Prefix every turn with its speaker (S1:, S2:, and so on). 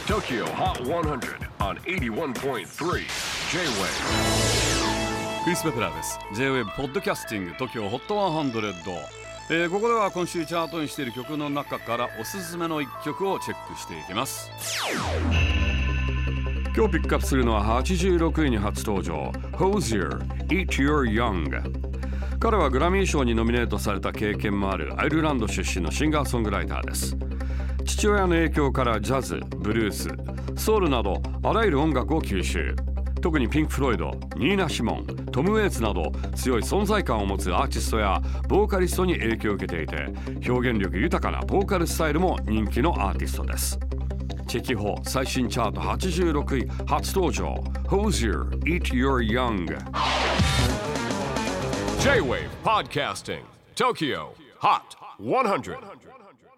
S1: TOKYO HOT 100 on 81.3 J-WAVE
S2: クリス・ベプラーです。 J-WAVE ポッドキャスティング TOKYO HOT 100、ここでは今週チャートにしている曲の中からおすすめの一曲をチェックしていきます。今日ピックアップするのは86位に初登場 Hozier Eat Your Young。 彼はグラミー賞にノミネートされた経験もあるアイルランド出身のシンガーソングライターです。父親の影響からジャズ、ブルース、ソウルなどあらゆる音楽を吸収。特にピンク・フロイド、ニーナ・シモン、トム・ウェイツなど強い存在感を持つアーティストやボーカリストに影響を受けていて、表現力豊かなボーカルスタイルも人気のアーティストです。チェキホ最新チャート86位初登場 Hozier Eat Your Young。
S1: J-WAVE PODCASTING TOKYO HOT 100